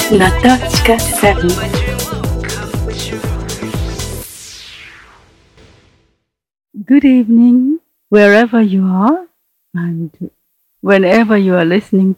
Natochka 7. Good evening, wherever you are and whenever you are listening.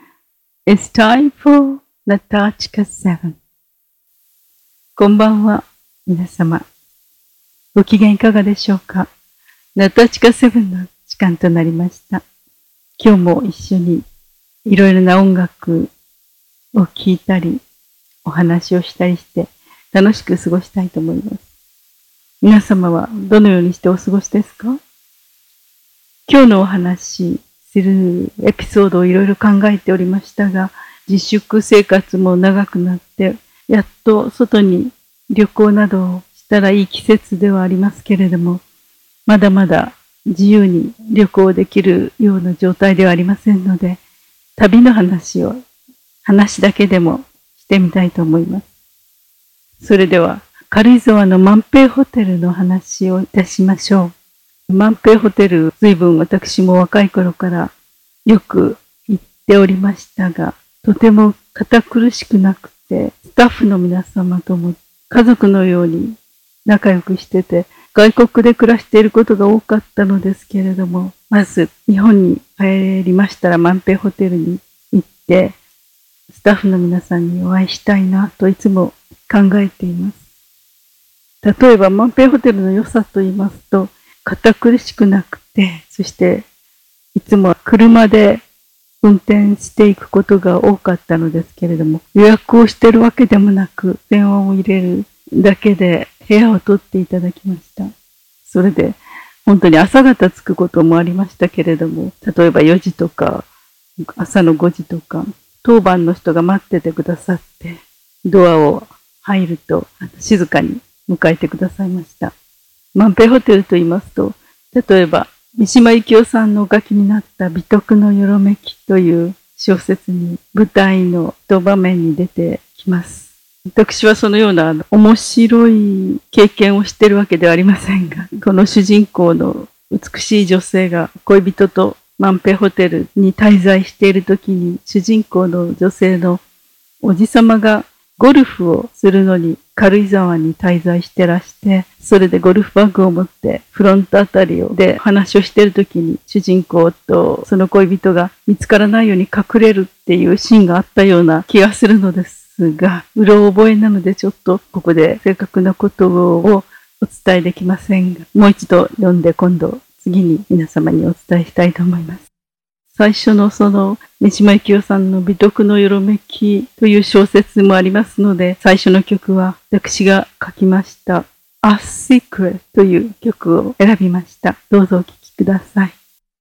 It's time for Natochka 7. こんばんは、皆様。ご機嫌いかがでしょうか。Natochka 7の時間となりました。今日も一緒にいろいろな音楽を聴いたり、お話をしたりして楽しく過ごしたいと思います。皆様はどのようにしてお過ごしですか？今日のお話しするエピソードをいろいろ考えておりましたが、自粛生活も長くなって、やっと外に旅行などをしたらいい季節ではありますけれども、まだまだ自由に旅行できるような状態ではありませんので、旅の話だけでもしてみたいと思います。それでは、軽井沢の万平ホテルの話をいたしましょう。万平ホテル、随分私も若い頃からよく行っておりましたが、とても堅苦しくなくて、スタッフの皆様とも家族のように仲良くしてて、外国で暮らしていることが多かったのですけれども、まず日本に帰りましたら万平ホテルに行って、スタッフの皆さんにお会いしたいなといつも考えています。例えば万平ホテルの良さと言いますと、堅苦しくなくて、そしていつも車で運転していくことが多かったのですけれども、予約をしているわけでもなく、電話を入れるだけで部屋を取っていただきました。それで本当に朝方着くこともありましたけれども、例えば4時とか朝の5時とか、当番の人が待っててくださって、ドアを入ると静かに迎えてくださいました。万平ホテルと言いますと、例えば三島由紀夫さんのお書きになった美徳のよろめきという小説に舞台の一場面に出てきます。私はそのような面白い経験をしているわけではありませんが、この主人公の美しい女性が恋人と万平ホテルに滞在しているときに、主人公の女性のおじさまがゴルフをするのに軽井沢に滞在してらして、それでゴルフバッグを持ってフロントあたりで話をしているときに、主人公とその恋人が見つからないように隠れるっていうシーンがあったような気がするのですが、うろ覚えなのでちょっとここで正確なことをお伝えできませんが、もう一度読んで今度次に皆様にお伝えしたいと思います。最初のその三島由紀夫さんの美徳のよろめきという小説もありますので、最初の曲は私が書きましたA Secret という曲を選びました。どうぞお聴きください。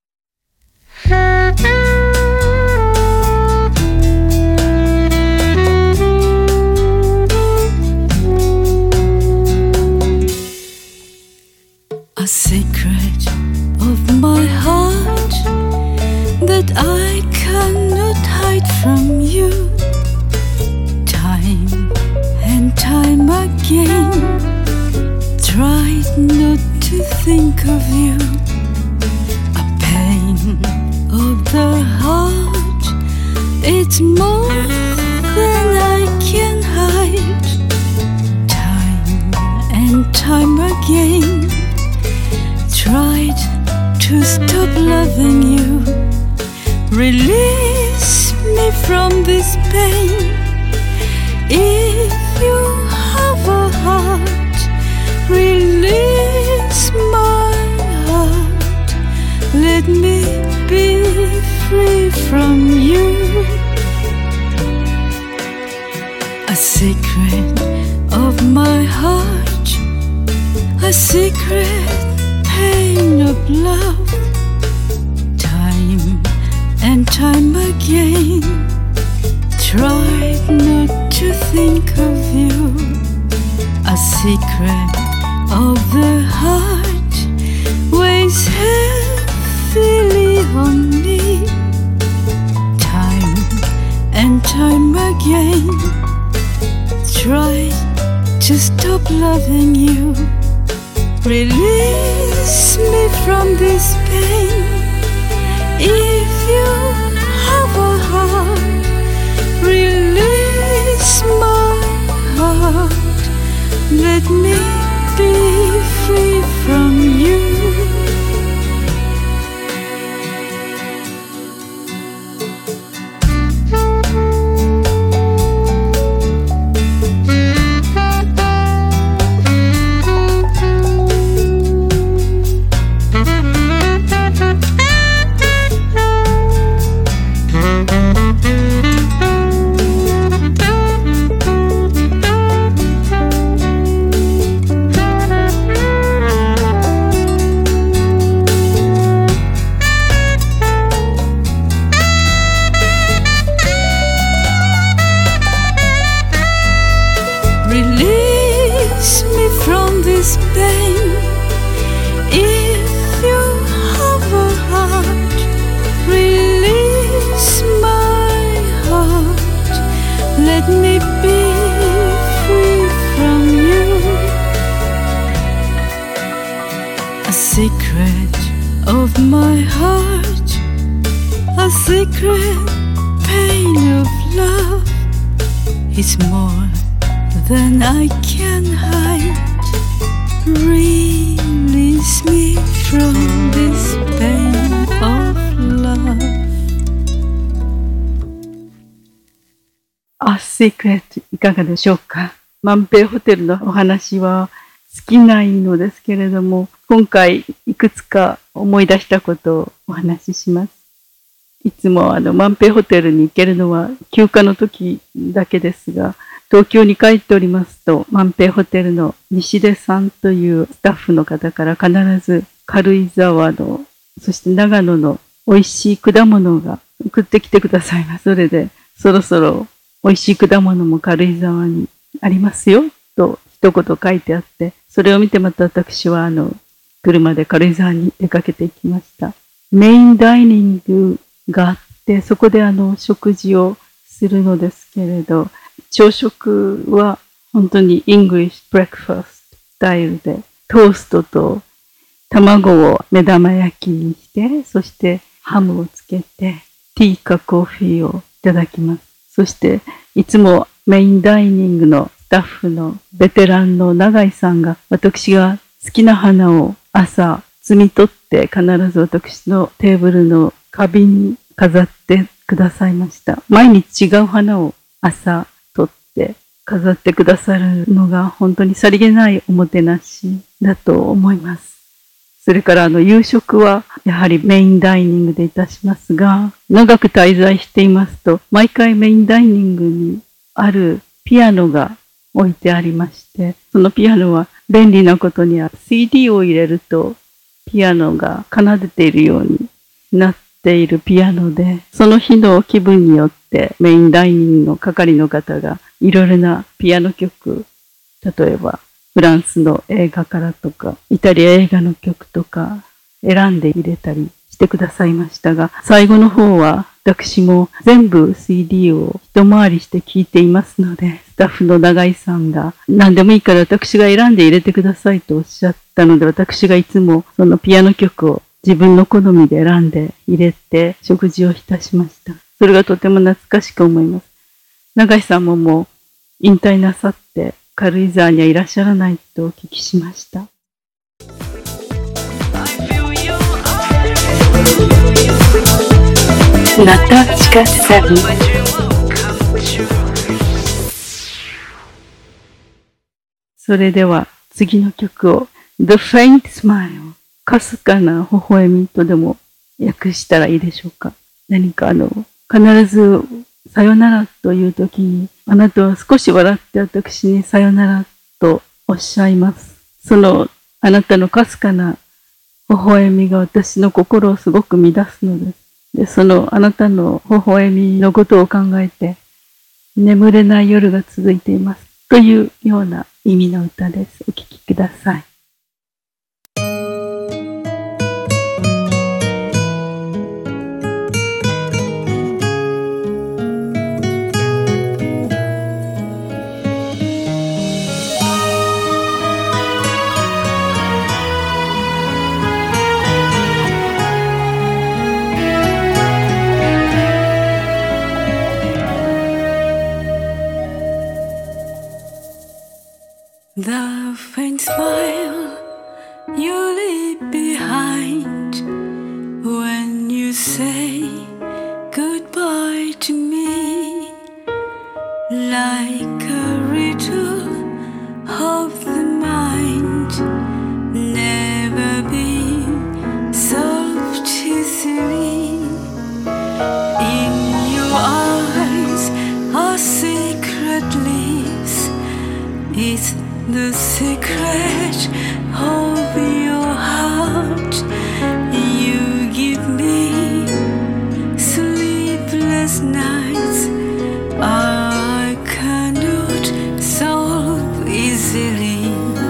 A secret of my heart that I cannot hide from you. Time and time again, tried not to think of you. A pain of the heart, it's more than I can hide. Time and time again, tried to stop loving you. Release me from this pain. If you have a heart, release my heart. Let me be free from you. A secret of my heart, a secret pain of love. Time and time again, tried not to think of you. A secret of the heart weighs heavily on me. Time and time again, tried to stop loving you. Release me from this pain. If you have a heart, release my heart, a secret pain of love. It's more than I can hide. Release me from this pain of love. A Secret いかがでしょうか。万平ホテルのお話は尽きないのですけれども、今回いくつか思い出したことをお話しします。いつも万平ホテルに行けるのは休暇の時だけですが、東京に帰っておりますと、万平ホテルの西出さんというスタッフの方から必ず軽井沢の、そして長野の美味しい果物が送ってきてくださいます。それで、そろそろ美味しい果物も軽井沢にありますよ、と一言書いてあって、それを見てまた私は車で軽井沢に出かけていきました。メインダイニングがあって、そこで食事をするのですけれど、朝食は本当にイングリッシュブレックファーストスタイルで、トーストと卵を目玉焼きにして、そしてハムをつけて、ティーかコーヒーをいただきます。そしていつもメインダイニングのスタッフのベテランの永井さんが、私が好きな花を朝摘み取って必ず私のテーブルの花瓶に飾ってくださいました。毎日違う花を朝取って飾ってくださるのが本当にさりげないおもてなしだと思います。それから夕食はやはりメインダイニングでいたしますが、長く滞在していますと、毎回メインダイニングにあるピアノが置いてありまして、そのピアノは便利なことにCD を入れるとピアノが奏でているようになっているピアノで、その日の気分によってメインダイニングの係の方がいろいろなピアノ曲、例えばフランスの映画からとか、イタリア映画の曲とか選んで入れたりしてくださいましたが、最後の方は私も全部 CD を一回りして聴いていますので、スタッフの永井さんが何でもいいから私が選んで入れてくださいとおっしゃったので、私がいつもそのピアノ曲を自分の好みで選んで入れて食事をいたしました。それがとても懐かしく思います。永井さんももう引退なさって軽井沢にはいらっしゃらないとお聞きしました。ナタチカ7。それでは次の曲を The Faint Smile、 かすかな微笑みとでも訳したらいいでしょうか。何か必ずさよならという時に、あなたは少し笑って私にさよならとおっしゃいます。そのあなたのかすかな微笑みが私の心をすごく乱すのです。で、そのあなたの微笑みのことを考えて眠れない夜が続いていますというような意味の歌です。お聴きください。 The faint smile you leave behind when you say goodbye to me, like a riddle of the mind, never be solved easily. In your eyes are secret leaves. It's the secret of your heart. You give me sleepless nights I cannot solve easily.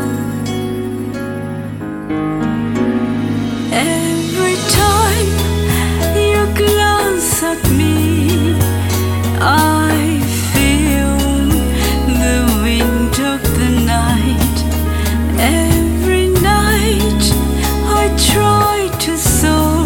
Every time you glance at me, I feel the wind of the night. Every night I try to solve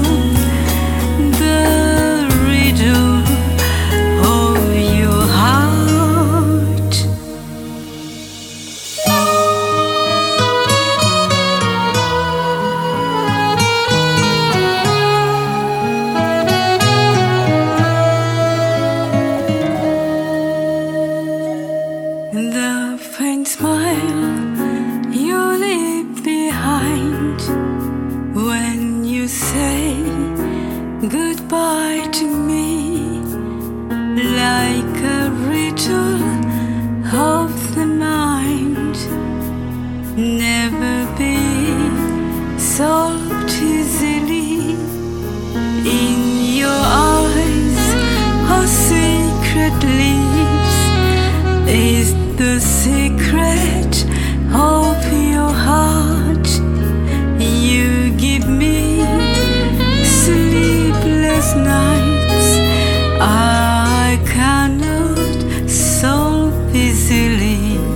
secret leaves is the secret of your heart. You give me sleepless nights I cannot solve easily.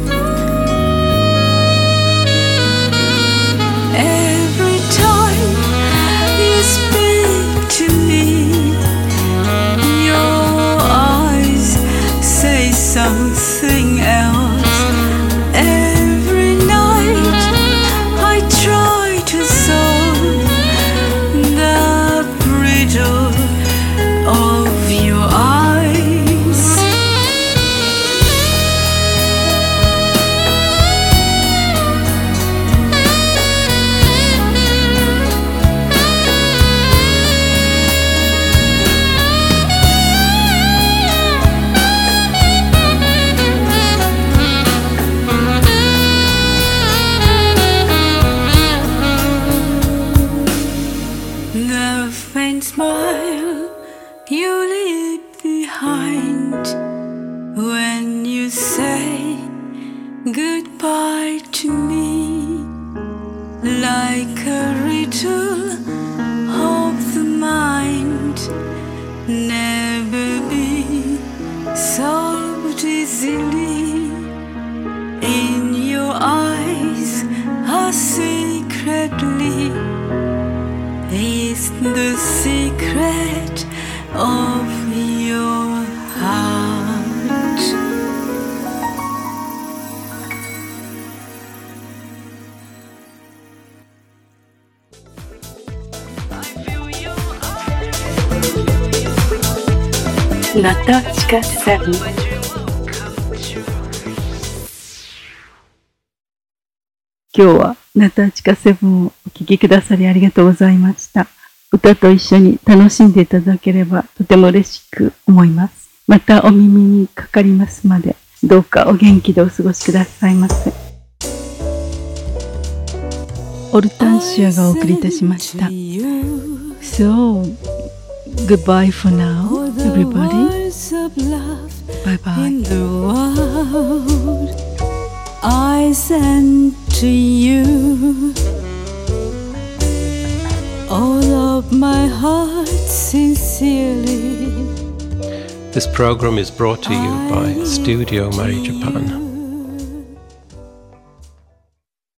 Every time you speak to me, your eyes say something else. Every night I try to solve the riddle of your eyes. The faint smile you leave behind when you say goodbye to me, like a riddle of the mind, never be solved easily. In your eyes are secretly is the secret of your heart. Natachka 7. 今日はナタチカ7をお聴きくださりありがとうございました。歌と一緒に楽しんでいただければとても嬉しく思います。またお耳にかかりますまで、どうかお元気でお過ごしくださいませ。オルタンシアがお送りいたしました。So, goodbye for now, everybody. Bye bye. I send to you all of my heart sincerely. This program is brought to you by Studio Mari Japan.